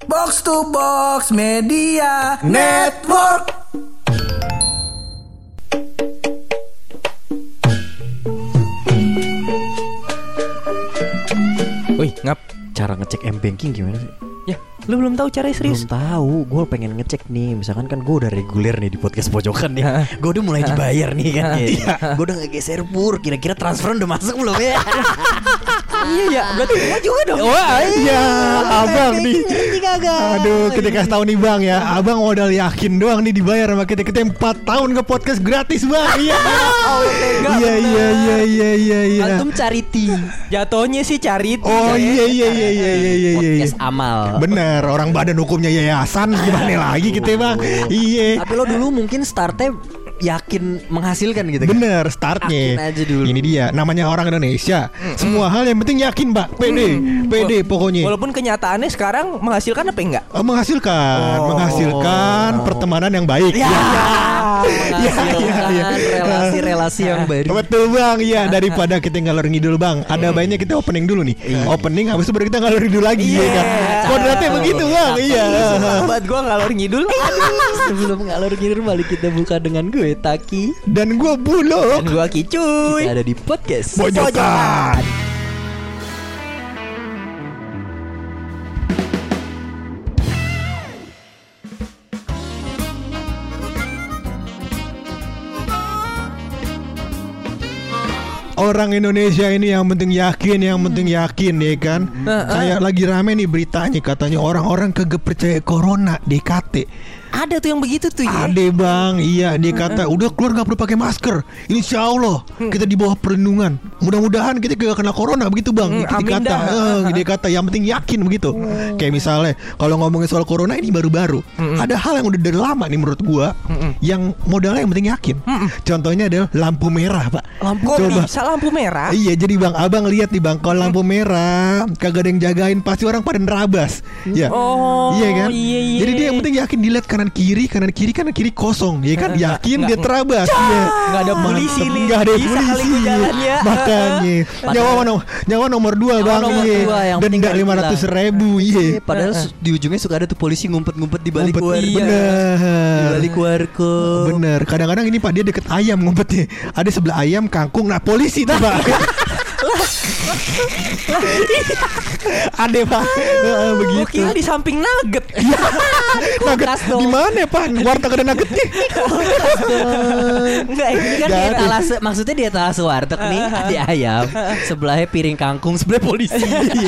Box to Box Media Network. Wih, Ngap, Cara ngecek M-Banking gimana sih? ya lu belum tahu cara serius? Belum tahu, gue pengen ngecek nih. Misalkan kan gue udah reguler nih di podcast pojokan nih. Gue udah mulai dibayar nih kan. Gue udah ngegeser pur. Kira-kira transfer udah masuk belum ya? Iya ya, berarti gua juga dong. Wah iya, abang nih. Aduh, kita kasih tahu nih bang ya, abang modal yakin doang nih dibayar sama kita 4 tahun ke podcast gratis bang. Iya. Iya. Antum charity. Jatuhnya sih cari. Oh iya. Podcast amal. Bener, orang badan hukumnya yayasan gimana lagi kita bang. Iya. Tapi lo dulu mungkin startnya yakin menghasilkan gitu kan? Bener, startnya. Yakin aja dulu. Ini dia, namanya orang Indonesia. Semua hal yang penting yakin mbak. Pede pokoknya. Walaupun kenyataannya sekarang menghasilkan apa enggak? Menghasilkan pertemanan yang baik. Menghasilkan relasi-relasi yang baru. Betul bang, iya. Daripada kita ngalor ngidul bang, ada baiknya kita opening dulu nih. Opening, habis itu baru kita ngalor ngidul lagi ya kan. Kodratnya begitu bang. Iya. Buat gua ngalor ngidul. Sebelum ngalor ngidul balik kita buka dengan gue Taki Dan gue Bulog. Dan gua Kicuy. Kita ada di podcast Pojokan. Orang Indonesia ini yang penting yakin ya kan. Kayak lagi rame nih beritanya, katanya orang-orang kagak percaya corona DKT. Ada tuh yang begitu tuh ya. Ada bang, iya dia kata udah keluar nggak perlu pakai masker. Insya Allah kita di bawah perlindungan. Mudah-mudahan kita gak kena corona begitu bang. Dia kata yang penting yakin begitu. Kayak misalnya kalau ngomongin soal corona ini baru-baru, ada hal yang udah dari lama nih menurut gua, yang modalnya yang penting yakin. Contohnya adalah lampu merah pak. Lampu merah. Iya jadi bang, abang lihat nih bang, kalau lampu merah kagak ada yang jagain, pasti orang pada nerabas. Ya. Iya kan. Iya. Jadi dia yang penting yakin, dilihat kanan kiri kosong, ya kan, yakin dia terabas. Iya. Nggak ada polisi nih. Nggak ada Bisa polisi. kali gua jalan ya. Makanya nyawa nomor 2 bang. Iya. Denda 500.000. Iya. Padahal di ujungnya suka ada tuh polisi ngumpet-ngumpet di balik warung. Bener. Di balik warkop. Bener. Kadang-kadang ini pak dia deket ayam ngumpetnya. Ada sebelah ayam kangkung. Nah polisi tuh pak. Ada pak. Begitu. Gua kira di samping nugget. Nugget di mana pak? Warteg ada nuggetnya. Enggak, ini kan Di dia etalase, maksudnya di etalase warteg nih ada ayam, sebelahnya piring kangkung, sebelah polisi.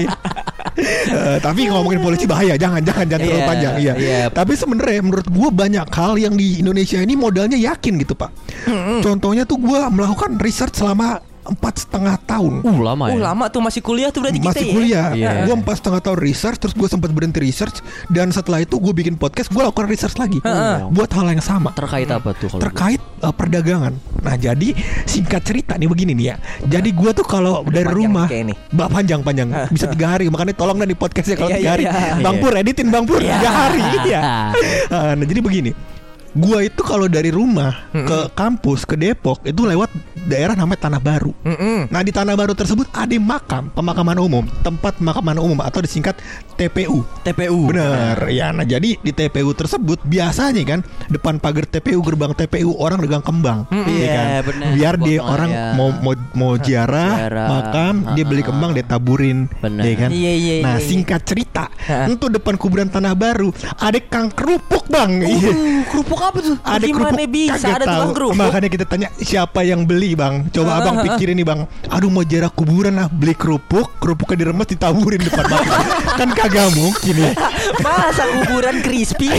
Tapi ngomongin polisi bahaya, jangan terlalu panjang. Iya. Tapi sebenarnya menurut gue banyak hal yang di Indonesia ini modalnya yakin gitu pak. Contohnya tuh gue melakukan research selama 4,5 tahun. Lama ya. lama tuh masih kuliah tuh berarti Masih kita kuliah. Iya. Gue 4,5 tahun research, terus gue sempat berhenti research, dan setelah itu gue bikin podcast, gue lakukan research lagi buat hal yang sama. Terkait apa tuh kalau Terkait perdagangan. Nah jadi singkat cerita nih begini nih ya. Jadi gue tuh kalau dari panjang rumah kayak ini. panjang bisa 3 hari. Makanya tolong dah di podcastnya kalau 3 hari. Iya. Bang Pur editin Bang Pur 3 hari. Iya. Nah jadi begini, gua itu kalau dari rumah ke kampus ke Depok itu lewat daerah namanya Tanah Baru. Nah di Tanah Baru tersebut ada pemakaman umum, tempat pemakaman umum atau disingkat TPU. Bener ya. Nah jadi di TPU tersebut biasanya kan depan pagar TPU, gerbang TPU orang dagang kembang, ya kan? bener. Biar dia Buat orang mau ziarah makam, dia beli kembang dia taburin, ya kan? Iya. Nah singkat cerita, untuk depan kuburan Tanah Baru ada kang kerupuk bang. kerupuk apa tuh? Ada Gimana kerupuk bisa kagak ada tukang tahu. kerupuk? Makanya kita tanya siapa yang beli bang. Coba abang pikirin nih bang. Aduh mau jarak kuburan beli kerupuknya diremes ditaburin depan makam. Kan kagak mungkin ya. Masa kuburan crispy?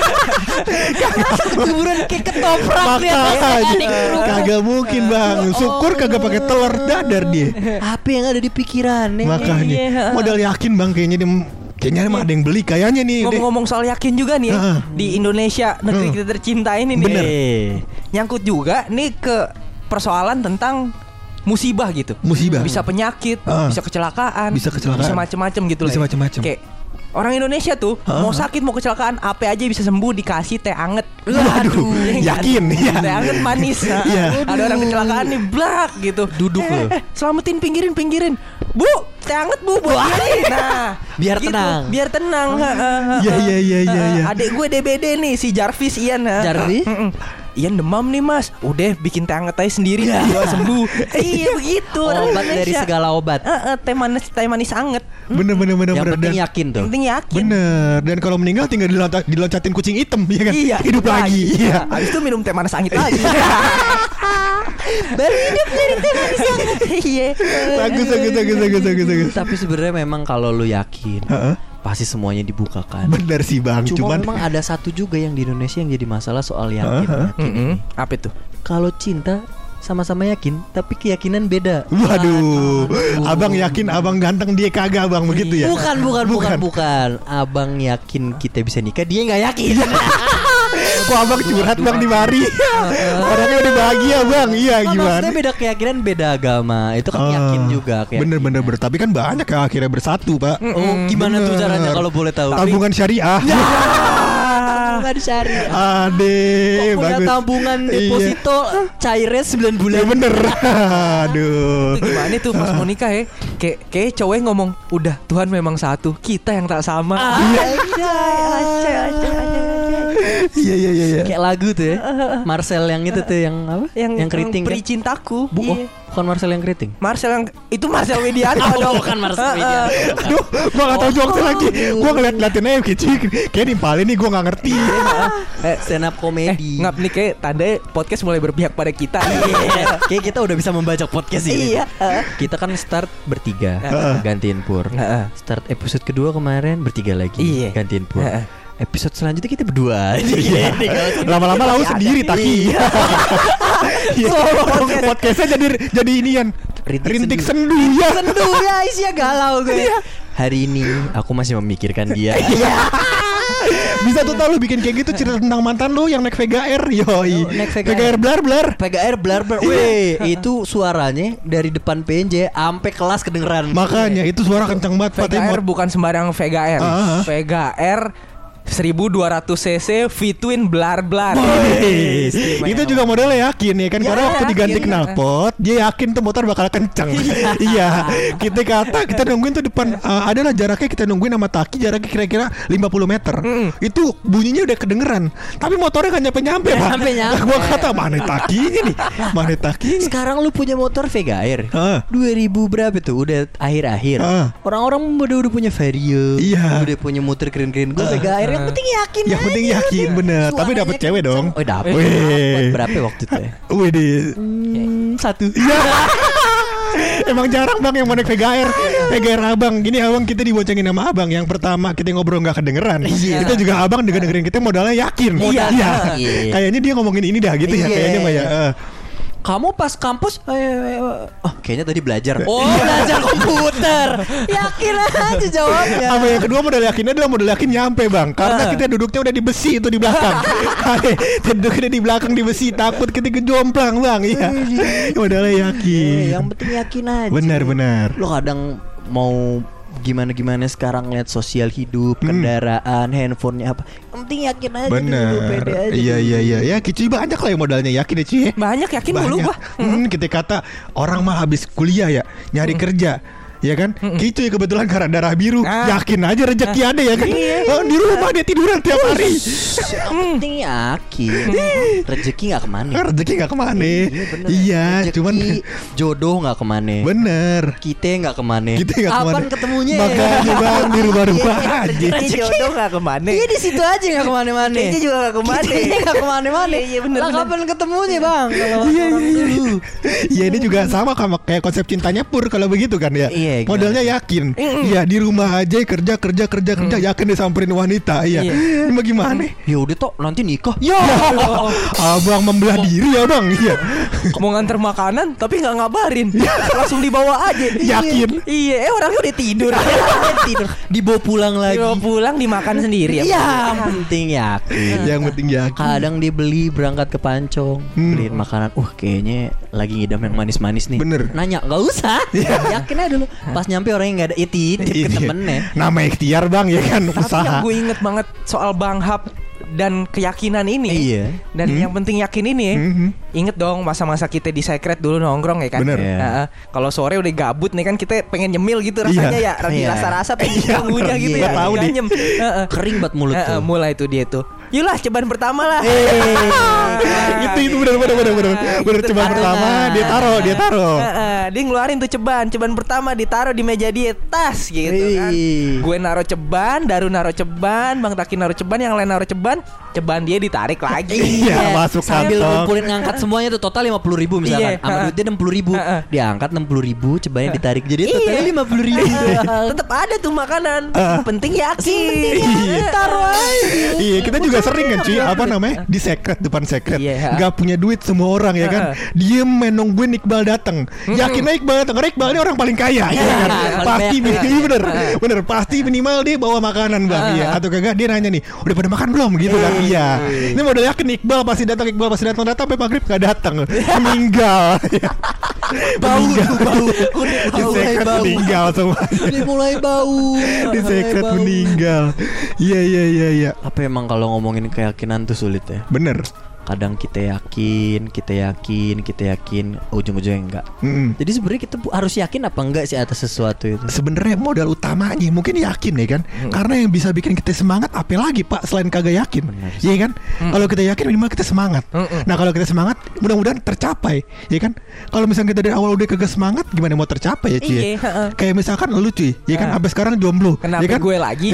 Kuburan kayak ketoprak Makanya kagak mungkin bang. Syukur kagak pakai telur dadar dia. Apa yang ada di pikirannya? Makanya modal yakin bang kayaknya dia. Kayaknya emang ada yang beli kayaknya nih. Ngomong-ngomong soal yakin juga nih ya, di Indonesia negeri kita tercinta ini nih. Bener. Nyangkut juga nih ke persoalan tentang musibah gitu. Musibah. Bisa penyakit, bisa kecelakaan, Bisa kecelakaan. bisa macem-macem gitu Bisa lah. macem-macem. Kayak Orang Indonesia tuh mau sakit mau kecelakaan apa aja bisa sembuh dikasih teh anget. Waduh, yakin ya. Teh anget manis. Iya. Ada orang kecelakaan nih blak gitu. Duduk loh. Selamatin pinggirin. Bu, teh anget bu buat dia. Nah, Biar tenang. Biar tenang. Iya. Adik gue DBD nih si Jarvis Ian. Jarvis? Ian demam nih mas. Udah bikin teh anget aja sendiri gua sembuh. Iya begitu. Obat dari segala obat. Teh manis anget. Bener. Yang penting yakin tuh. Yang penting yakin. Bener. Dan kalau meninggal tinggal diloncatin kucing hitam, ya kan? Iya, Hidup lagi. Iya. Habis itu minum teh manis angit lagi. Baru hidup dari teh manis angit. Iya. Bagus. Tapi sebenarnya memang kalau lu yakin, Heeh. pasti semuanya dibukakan. Bener sih bang. Cuma Cuman memang ada satu juga yang di Indonesia yang jadi masalah soal yakin. Apa itu? Kalau cinta sama-sama yakin, tapi keyakinan beda. waduh, abang yakin abang ganteng dia kagak abang begitu ya? Bukan. Abang yakin kita bisa nikah, dia nggak yakin. Kok abang curhat bang di mari? Orangnya udah bahagia bang. Iya gimana? Maksudnya beda keyakinan, beda agama. Itu kan yakin juga. Bener. Tapi kan banyak yang akhirnya bersatu pak. Oh, gimana tuh caranya kalau boleh tahu? Tabungan syariah. Tabungan syariah. Ade, Punya bagus. tabungan Iya. deposito cairnya 9 bulan. Ya bener. Aduh. Itu gimana tuh pas mau nikah ya? Kayak cowoknya ngomong, udah Tuhan memang satu, kita yang tak sama. Iya. Kayak lagu tuh ya. Marcel yang itu tuh yang apa? Yang keriting Peri kan? cintaku. Oh, bukan Marcel yang keriting. Marcel yang itu Marcel Widianto dong. Bukan Marcel Widianto. Aduh, gua gak tau jokesnya lagi. Gua ngeliat-ngeliatin aja kayak nimpalin nih gua gak ngerti. Stand up comedy. Ngap nih kayak tanda podcast mulai berpihak pada kita. Kayak kita udah bisa membaca podcast ini. Iya. Kita kan start bertiga, gantiin Pur. Start episode kedua kemarin bertiga lagi, Iya. gantiin Pur. Episode selanjutnya kita berdua. Iya. Lama-lama lau sendiri Taki. Podcastnya jadi inian rintik sendu ya. Sendu ya, isinya galau gue. Hari ini aku masih memikirkan dia. Bisa tuh tau lu bikin kayak gitu cerita tentang mantan lu yang naik Vega Air. Yoi. Naik Vega Vega Air blar. PGR blar. Weh, itu suaranya dari depan PNJ sampai kelas kedengeran. Makanya itu suara kencang banget Pak. Vega Air bukan sembarang Vega Air. Ah. Vega Air 1200 cc V-twin blar. Itu juga modelnya yakin ya kan. Karena waktu diganti knalpot dia yakin tuh motor bakal kencang. Iya. Kita nungguin tuh depan adalah jaraknya kita nungguin sama Taki jaraknya kira-kira 50 meter. Itu bunyinya udah kedengeran. Tapi motornya kan nyampe Pak. Nyampe. Gua kata mana Takinya nih. Mana Takinya. Sekarang lu punya motor Vega Air 2000 berapa tuh? Udah akhir-akhir. Orang-orang udah punya Vario. Iya. Udah punya motor keren-keren. Gue Vega Air yang penting yakin. Yang penting yakin bener. Tapi dapet cewek dong. Oh dapet. Weh. Berapa waktu itu ya? Wih di. 1. Emang jarang bang yang mau naik Vega Air. Vega Air abang. Gini abang kita diboncengin sama abang. Yang pertama kita ngobrol gak kedengeran. Itu juga abang dengerin kita modalnya yakin. Iya. Kayaknya dia ngomongin ini dah gitu ya. Kayaknya mah ya. Kamu pas kampus kayaknya tadi belajar. Oh, belajar komputer. Yakin aja jawabnya. Sama yang kedua modal yakinnya adalah modal yakin nyampe bang. Karena kita duduknya udah di besi itu di belakang. Kita duduknya di belakang di besi. Takut kita kejomplang bang. Iya. Modalnya yakin. Yang penting yakin aja. Benar. Lo kadang mau gimana sekarang lihat sosial hidup, kendaraan, handphonenya apa. Yang penting yakin aja dulu, pede aja. Iya. Ya Kici banyak lah yang modalnya yakin ya Ci. Banyak yakin dulu gua. Kita kata orang mah habis kuliah ya nyari kerja. Ya kan, Kicu kebetulan karena darah biru, yakin aja rezeki ada ya kan. Di rumah dia tiduran tiap hari. Yang penting yakin. Rezeki nggak kemana. Rezeki nggak kemana. Bener. Iya, Rezeki, cuman jodoh nggak kemana. bener. Kita nggak kemana. Kapan ketemunya? Makanya bang di rumah-rumah aja. Rezeki jodoh gak kemana. Iya di situ aja nggak kemana-mana. Kayaknya juga gak kemana. Kayaknya nggak kemana-mana. Iya bener. Lah kapan ketemunya bang? Iya. Iya ini juga sama kayak konsep cintanya Pur kalau begitu kan ya. Iya, modalnya yakin. Iya di rumah aja kerja yakin disamperin wanita. Iya. Ini gimana? Ya udah toh nanti nikah. Ya. Abang membelah diri ya bang. Iya. Mau nganter makanan tapi nggak ngabarin. Langsung dibawa aja. Yakin. Iya, orangnya udah tidur. Tidur. Dibawa pulang lagi. Dibawa pulang dimakan sendiri. Yang penting yakin. Yang penting yakin. Kadang dia beli berangkat ke Pancong, beliin makanan. Kayaknya lagi ngidam yang manis-manis nih. Bener. Nanya, nggak usah. Yakin aja dulu. Pas nyampe orangnya nggak ada, titip ke temennya. Nama ikhtiar bang ya kan, Tapi usaha. yang gue inget banget soal Bang Hap dan keyakinan ini. Iya. Dan yang penting yakin ini ya. Inget dong masa-masa kita di Secret dulu nongkrong ya kan. Bener. Iya. Kalau sore udah gabut nih kan kita pengen nyemil gitu rasanya Iya. ya. Iya. Rasa-rasa pengen ngunyah gitu Gua ya. tahu nih. Ganyem. Kering banget mulut tuh. Mulai tuh dia tuh. Yulah cobaan pertama lah. Itu bener cobaan kan. pertama dia taruh. Dia ngeluarin tuh cobaan pertama ditaruh di meja dia, tas gitu kan. Gue naruh ceban, Daru naruh ceban, Bang Taki naruh ceban, yang lain naruh ceban dia ditarik lagi. Iya, masuk Sambil kantong. ngumpulin ngangkat semuanya tuh total 50.000 misalkan. Iya. Sama duitnya 60.000. Diangkat 60.000, cobain ditarik jadi totalnya 50.000. Tetap ada tuh makanan. Penting yakin. Iya. Taruh aja. Iya, kita juga sering kan cuy, apa namanya, di Secret, depan Secret, Iya. nggak punya duit semua orang ya kan, diem nungguin Iqbal datang. Yakin aja Iqbal datang, karena Iqbal ini orang paling kaya ya kan. Pasti banyak. bener pasti minimal dia bawa makanan bang, iya. Atau kagak dia nanya nih, udah pada makan belum gitu kan, iya. Ini modal yakin Iqbal pasti datang sampai maghrib nggak datang, meninggal. Bau tuh bau. Di Secret meninggal semua. Udah mulai bau. Di Secret meninggal. Iya. Apa emang kalau ngomongin keyakinan tuh sulit ya? Bener. Kadang kita yakin, ujung-ujungnya enggak. Jadi sebenarnya kita harus yakin apa enggak sih atas sesuatu itu? Sebenarnya modal utamanya mungkin yakin ya kan, karena yang bisa bikin kita semangat apa lagi pak selain kagak yakin, iya kan? Kalau kita yakin minimal kita semangat. Nah kalau kita semangat mudah-mudahan tercapai, ya kan? Kalau misalnya kita dari awal udah kagak semangat, gimana mau tercapai ya cuy? Iya. Kayak misalkan lu cuy, ya kan? Sampai sekarang jomblo, Kenapa ya kan? gue lagi?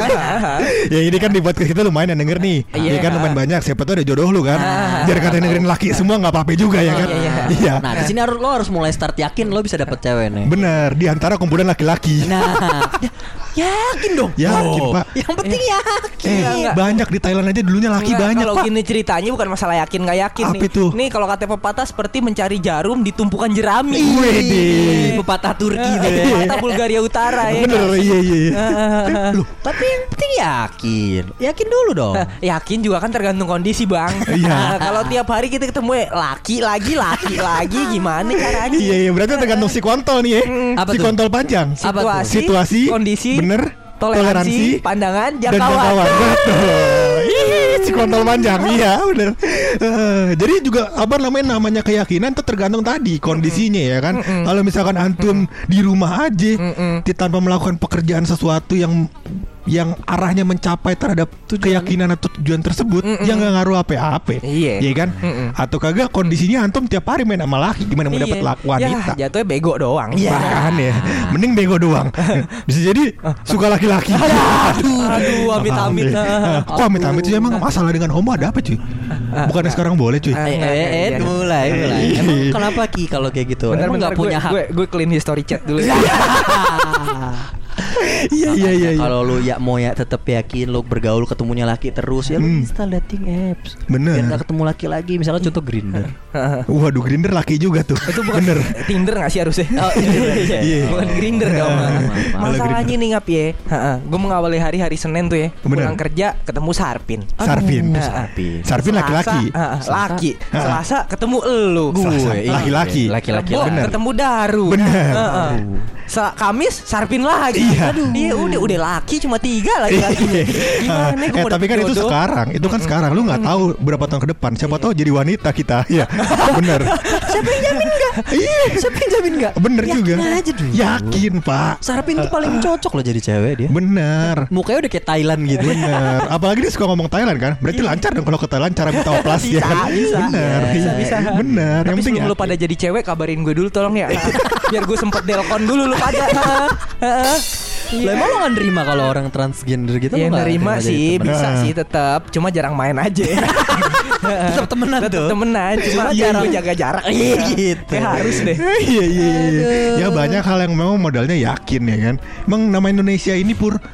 Ya ini kan di podcast kita lumayan yang denger nih, ya kan lumayan banyak. Siapa tuh ada jodoh lu kan? Biar kata dengerin laki semua nggak apa-apa juga ya kan? Iya. Nah, di sini lo harus mulai start yakin lo bisa dapet cewek nih. Bener, di antara kumpulan laki-laki. Nah, yakin dong. Yakin pak. Yang penting yakin. Banyak di Thailand aja dulunya laki Enggak, banyak kalau pak. gini ceritanya bukan masalah yakin nggak yakin Apa nih. itu? Nih kalau kata pepatah seperti mencari jarum di tumpukan jerami. Wede. Pepatah Turki tuh ya. Pepatah Bulgaria Utara ya. Bener, iya. Loh, Tapi yang penting yakin. Yakin dulu dong. Yakin juga kan tergantung kondisi bang. Iya. Kalau tiap hari kita ketemu laki lagi gimana caranya? iya, berarti tergantung si kontol nih ya. Apa Si tuh? kontol panjang. Apa tuh? Situasi, kondisi, bener, toleransi, pandangan, dan jangkauan. jangkauan. Betul. Ih, si kontol panjang, iya bener. Jadi juga apa namanya keyakinan itu tergantung tadi kondisinya ya kan. Kalau misalkan antum di rumah aja, tanpa melakukan pekerjaan sesuatu yang arahnya mencapai terhadap keyakinan atau tujuan tersebut, yang nggak ngaruh apa-apa, Iya. kan? Atau kagak kondisinya antum tiap hari main sama laki, gimana mau dapat wanita? Ya, jatuhnya bego doang. Bahkan ya, mending bego doang. Bisa jadi suka laki-laki. Aduh, amit-amit. Kok amit-amit sih, emang masalah dengan homo ada apa cuy? Bukannya sekarang boleh cuy? Mulai. Emang kenapa Ki kalau kayak gitu? Emang nggak punya hak. Gue clean history chat dulu. Iya. Kalau lu mau tetap yakin lu bergaul ketemunya laki terus ya lu install dating apps. Bener. Biar gak ketemu laki lagi, misalnya contoh Grindr. Waduh, Grindr laki juga tuh. Itu bukan bener. Tinder gak sih harusnya? Oh, iya. Iya. Bukan Grindr dong. Malah Masalahnya Grindr. nih ngap ya. Gue mengawali hari Senin tuh ya. Bener. Pulang kerja ketemu Sarpin. Sarpin. Sarpin laki-laki. Laki. Selasa ketemu elu. Selasa, Gue, laki-laki. Laki-laki. Rebo Bener. ketemu Daru. Bener. Kamis Sarpin lagi. Iya. Aduh, dia udah laki cuma 3 lagi. Gimana gue mau Tapi dapet kan itu jodoh? sekarang. Itu kan sekarang. Lu gak tahu berapa tahun ke depan. Siapa tahu jadi wanita kita. Iya. Bener. Siapa yang jamin enggak? Iya. Siapa yang jamin enggak? Bener juga. Yakin aja dulu. Yakin pak. Sarapin tuh paling cocok loh jadi cewek dia. Bener. Mukanya udah kayak Thailand gitu. Bener. Apalagi dia suka ngomong Thailand kan. Berarti lancar dong kalau ke Thailand cara minta oplas ya kan. Bisa. Bener. Bisa. Bener. Tapi Yang penting sebelum lu pada jadi cewek kabarin gue dulu tolong ya. Biar gue sempet delkon dulu lu pada. Lah emang lo gak nerima kalau orang transgender gitu? Ya lo nggak nerima jadi sih, temen? bisa sih tetap. Cuma jarang main aja. Tetap temenan Tetap tuh. temenan, cuma Cuma jarang jarang. jaga jarak. Iya gitu. Kayak harus deh. Iya. Ya banyak hal yang memang modalnya yakin ya kan. Emang nama Indonesia ini pur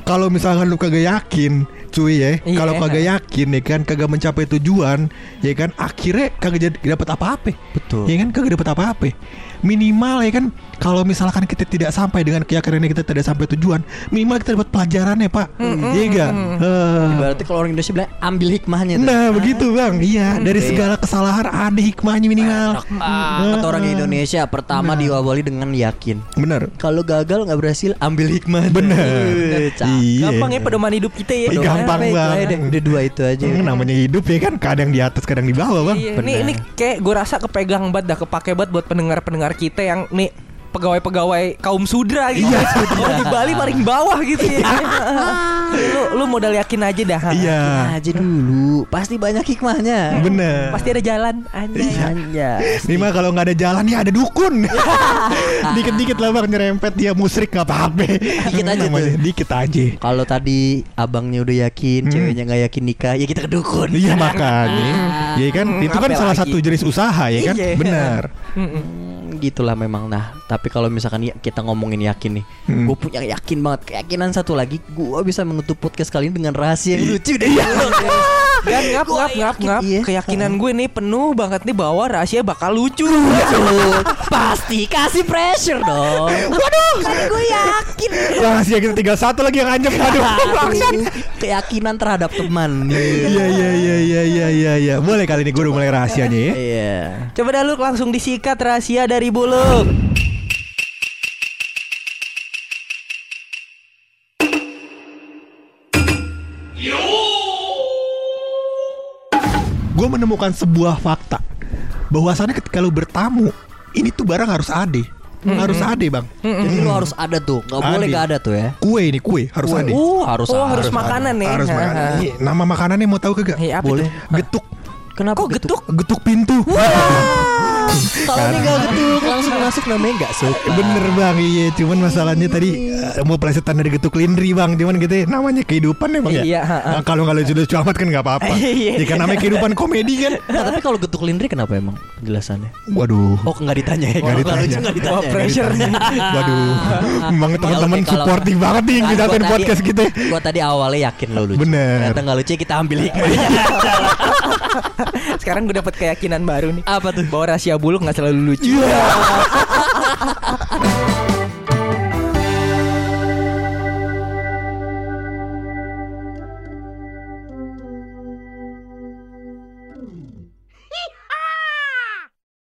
kalau misalkan lu kagak yakin, cuy ya, Iya. kalau kagak yakin ya kan, kagak mencapai tujuan, ya kan, akhirnya kagak dapat apa-apa. Betul. Ya kan, kagak dapat apa-apa. Minimal ya kan, kalau misalkan kita tidak sampai dengan keyakinan kita tidak sampai tujuan, minimal kita dapat pelajarannya, Pak. Iya enggak? Berarti kalau orang Indonesia bilang ambil hikmahnya tuh. Nah, begitu, Bang. Iya, dari segala kesalahan ada hikmahnya minimal. Kata orang Indonesia pertama diawali dengan yakin. Bener. Kalau gagal nggak berhasil ambil hikmah. Bener. Iya. Gampang ya pedoman hidup kita ya. Ih, gampang banget. Udah dua itu aja. Namanya hidup ya kan, kadang di atas kadang di bawah, Bang. Iya, ini kayak gue rasa kepegang banget dah, kepake banget buat pendengar-pendengar kita yang nih pegawai-pegawai kaum sudra gitu. Iya, Kalau di Bali paling bawah gitu ya. lu modal yakin aja dah. Iya. Yakin aja dulu. Pasti banyak hikmahnya. Bener. Pasti ada jalan aja. Ini mah kalau nggak ada jalan ya ada dukun. Dikit-dikit lah, Bang, nyerempet dia musrik nggak apa-apa. Dikit aja Namanya, tuh. dikit aja. Kalau tadi abangnya udah yakin, ceweknya nggak yakin nikah, ya kita ke dukun. Iya, makanya. Ya kan, itu kan Apa salah lagi? satu jenis usaha ya kan. Iya. Bener. Gitulah memang. Nah, tapi kalau misalkan ya kita ngomongin yakin nih, gue punya yakin banget, keyakinan satu lagi, gue bisa menutup podcast kali ini dengan rahasia yang lucu deh. Dan ngap. Iya. Keyakinan gue nih penuh banget nih bahwa rahasia bakal lucu. Pasti kasih pressure dong. Waduh, kan gue yakin. Rahasia kita tinggal satu lagi yang anjep. Aduh. Keyakinan terhadap teman. Iya. Boleh kali ini gue udah mulai rahasianya ya. Iya. Coba dah lu langsung disikat rahasia dari Buluk. Gue menemukan sebuah fakta bahwasannya ketika lu bertamu, ini tuh barang harus ada. Harus ada, Bang. Jadi lu harus ada tuh, nggak boleh Ada. nggak ada tuh ya. Kue harus ada. Harus makanan nih. Harus makanan. Nih, nama makanannya mau tahu kagak? Iya, apa Boleh. tuh? Getuk. Kenapa Kok getuk? Getuk pintu. Kalau ini nggak getuk langsung masuk namanya nggak suka. Bener, Bang. Iya, cuman masalahnya tadi mau plesetan dari getuk lindri, Bang. Cuman gitu ya, namanya kehidupan ya, Bang ya. Iya, Nah, kalau nggak lucu-lucu amat kan nggak apa-apa. Iya. Ya kan namanya kehidupan komedi kan. Nah, tapi kalau getuk lindri kenapa emang jelasannya? Waduh. Oh, nggak ditanya ya? Nggak Kalau ditanya. lucu nggak ditanya. Wah, pressure nih. Waduh. Memang teman-teman Ya, oke, kalau- supporting banget nih Nah, kita gua tadi- podcast kita. Gua tadi awalnya yakin lo lucu. Bener. Ternyata nggak lucu, kita ambil hikmahnya. Sekarang gue dapet keyakinan baru nih. Apa tuh? Bahwa rahasia Buluk nggak selalu lucu.